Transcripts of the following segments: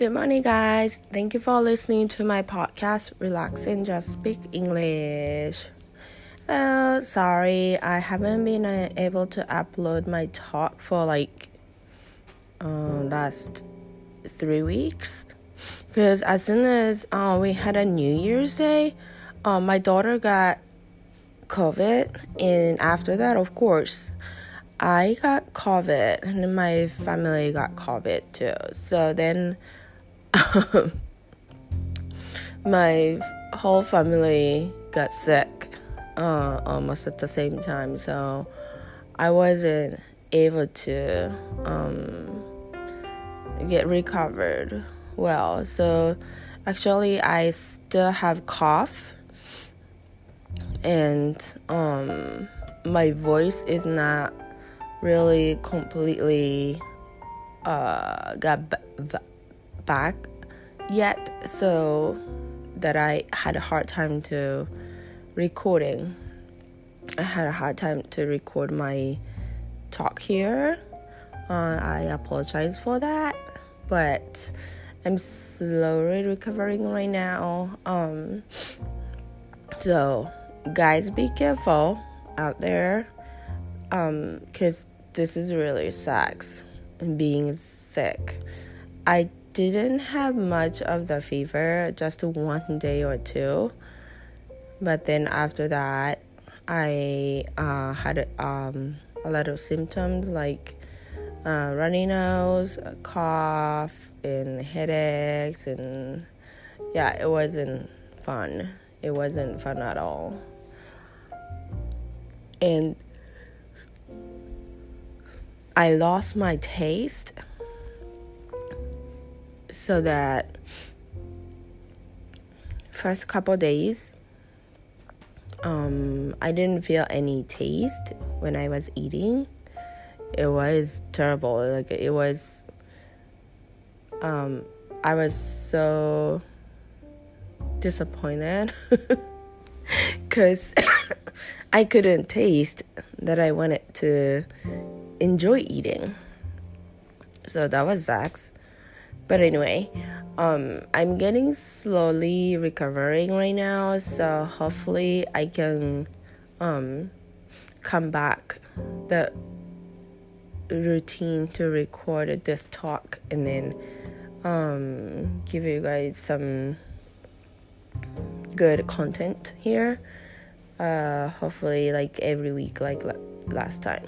Good morning, guys. Thank you for listening to my podcast, Relax and Just Speak English. Sorry, I haven't been able to upload my talk for last 3 weeks. Because as soon as we had a New Year's Day, my daughter got COVID. And after that, of course, I got COVID and my family got COVID too. So then my whole family got sick almost at the same time. So I wasn't able to get recovered well. So actually I still have cough and my voice is not really completely got back yet, so that I had a hard time to recording. I had a hard time to record my talk here. I apologize for that, but I'm slowly recovering right now. So guys, be careful out there. Because this is really sucks, being sick. I didn't have much of the fever, just 1 day or two. But then after that, I had a lot of symptoms like runny nose, cough, and headaches. And yeah, it wasn't fun. It wasn't fun at all. And I lost my taste, so that first couple days, I didn't feel any taste when I was eating. It was terrible. I was so disappointed because I couldn't taste that I wanted to enjoy eating. So that was sucks. But anyway, I'm getting slowly recovering right now, so hopefully I can come back the routine to record this talk and then give you guys some good content here. Hopefully like every week like last time.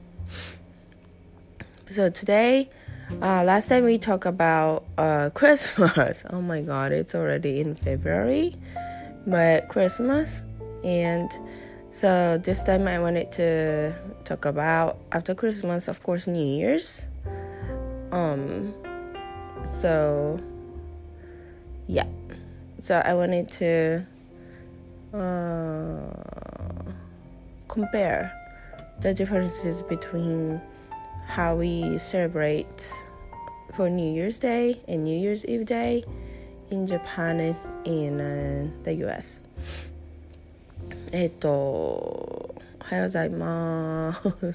So today, last time we talked about Christmas. Oh my God, it's already in February, but Christmas. And so this time I wanted to talk about after Christmas, of course, New Year's. So yeah, so I wanted to compare the differences between how we celebrate for New Year's Day and New Year's Eve Day in Japan and in the US. おはようございます。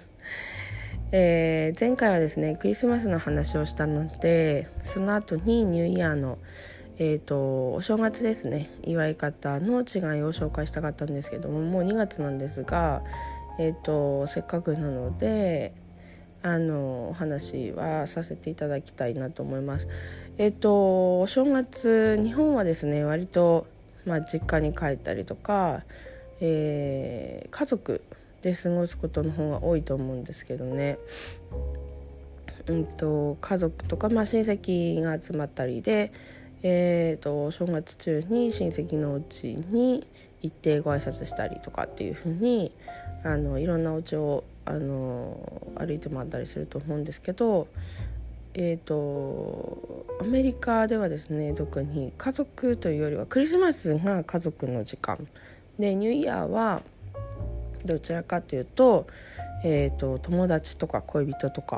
前回はですね、クリスマスの話をしたので、その後にニューイヤーのお正月ですね、祝い方の違いを紹介したかったんですけども、もう2月なんですが、せっかくなのでお話はさせていただきたいなと思います。お正月、日本はですね、割と、実家に帰ったりとか、家族で過ごすことの方が多いと思うんですけどね。家族とか、親戚が集まったりで、お正月中に親戚のお家に行ってご挨拶したりとかっていう風にいろんなお家を歩いて回ったりすると思うんですけど、アメリカではですね、特に家族というよりはクリスマスが家族の時間で、ニューイヤーはどちらかというと、友達とか恋人とか、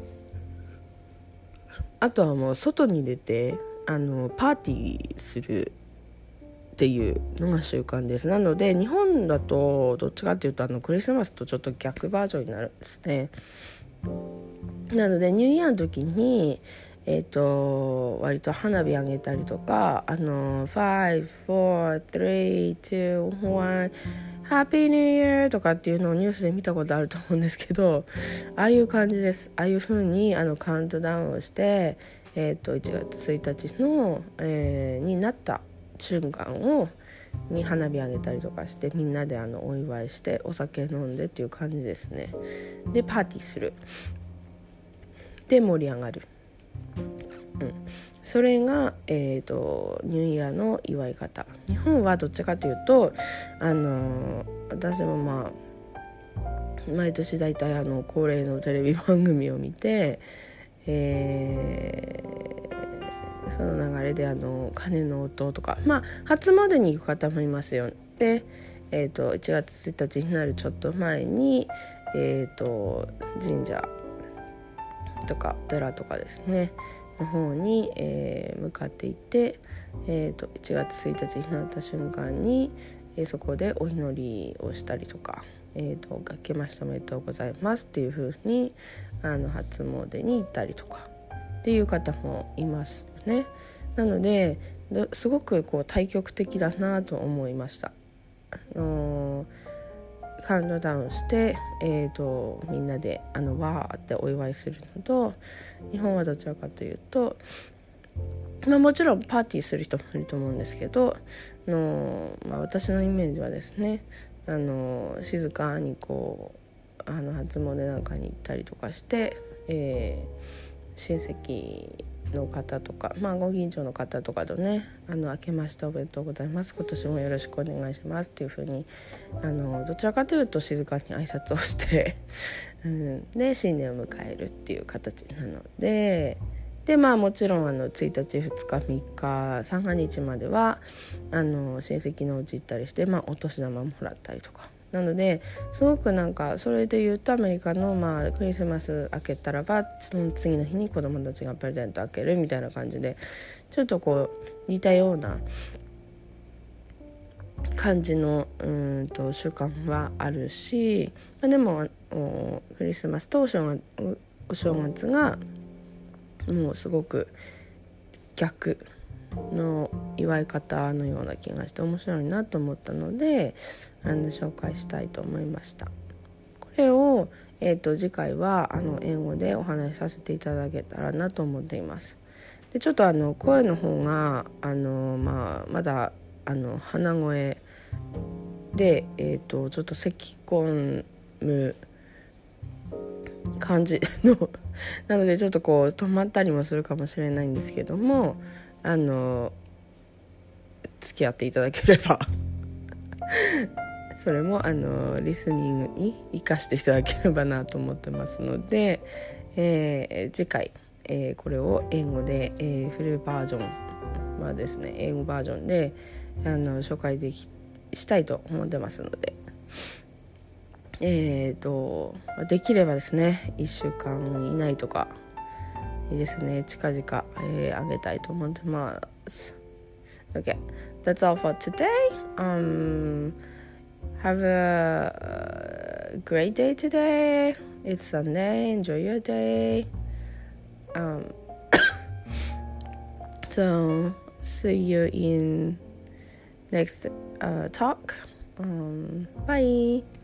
あとはもう外に出てパーティーするっていうのが習慣です。なので日本だとどっちかっていうとクリスマスとちょっと逆バージョンになるんですね。なのでニューイヤーの時に、 割と花火あげたりとか5, 4, 3, 2, 1 Happy New Year とかっていうのをニュースで見たことあると思うんですけど、ああいう感じです。ああいう風にカウントダウンをして、1月1日の、になった瞬間に花火あげたりとかして、みんなでお祝いしてお酒飲んでっていう感じですね。でパーティーする、で盛り上がる、それが、ニューイヤーの祝い方。日本はどっちかというと私も毎年だいたい恒例のテレビ番組を見て、その流れで鐘の音とか、初詣に行く方もいますよ。で、1月1日になるちょっと前に、神社とか寺とかですねの方に、向かっていって、1月1日になった瞬間に、そこでお祈りをしたりとか、明けましておめでとうございますっていう風に初詣に行ったりとかっていう方もいますね。なのですごく対極的だなと思いました。カウントダウンして、みんなでわーってお祝いするのと、日本はどちらかというと、もちろんパーティーする人もいると思うんですけど私のイメージはですね静かに初詣なんかに行ったりとかして、親戚の方とか、ご近所の方とかとね明けましておめでとうございます、今年もよろしくお願いしますっていう風にどちらかというと静かに挨拶をしてで新年を迎えるっていう形なので、もちろん1日2日3日三が日までは親戚のうち行ったりして、お年玉もらったりとかなので、すごくそれで言うとアメリカのクリスマス明けたらばその次の日に子供たちがプレゼント開けるみたいな感じで、ちょっと似たような感じの習慣はあるし、でもクリスマスとお正月がもうすごく逆の祝い方のような気がして面白いなと思ったので紹介したいと思いました。これを、次回は英語でお話しさせていただけたらなと思っています。でちょっと声の方がまだ鼻声で、ちょっと咳き込む感じのなのでちょっと止まったりもするかもしれないんですけども付き合っていただければそれもリスニングに生かしていただければなと思ってますので、次回、これを英語で、フルバージョンはですね英語バージョンで紹介したいと思ってますので、できればですね1週間以内とかですね近々、あげたいと思ってます。 Okay, that's all for today. Have a great day today. It's Sunday. Enjoy your day. So see you in next talk. Bye.